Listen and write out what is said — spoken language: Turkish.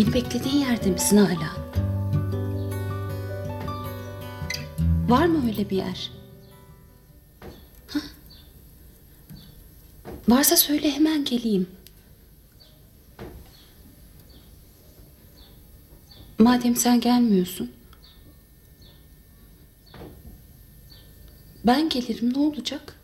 Beni beklediğin yerde misin hala? Var mı öyle bir yer? Ha? Varsa söyle, hemen geleyim. Madem sen gelmiyorsun, ben gelirim, ne olacak?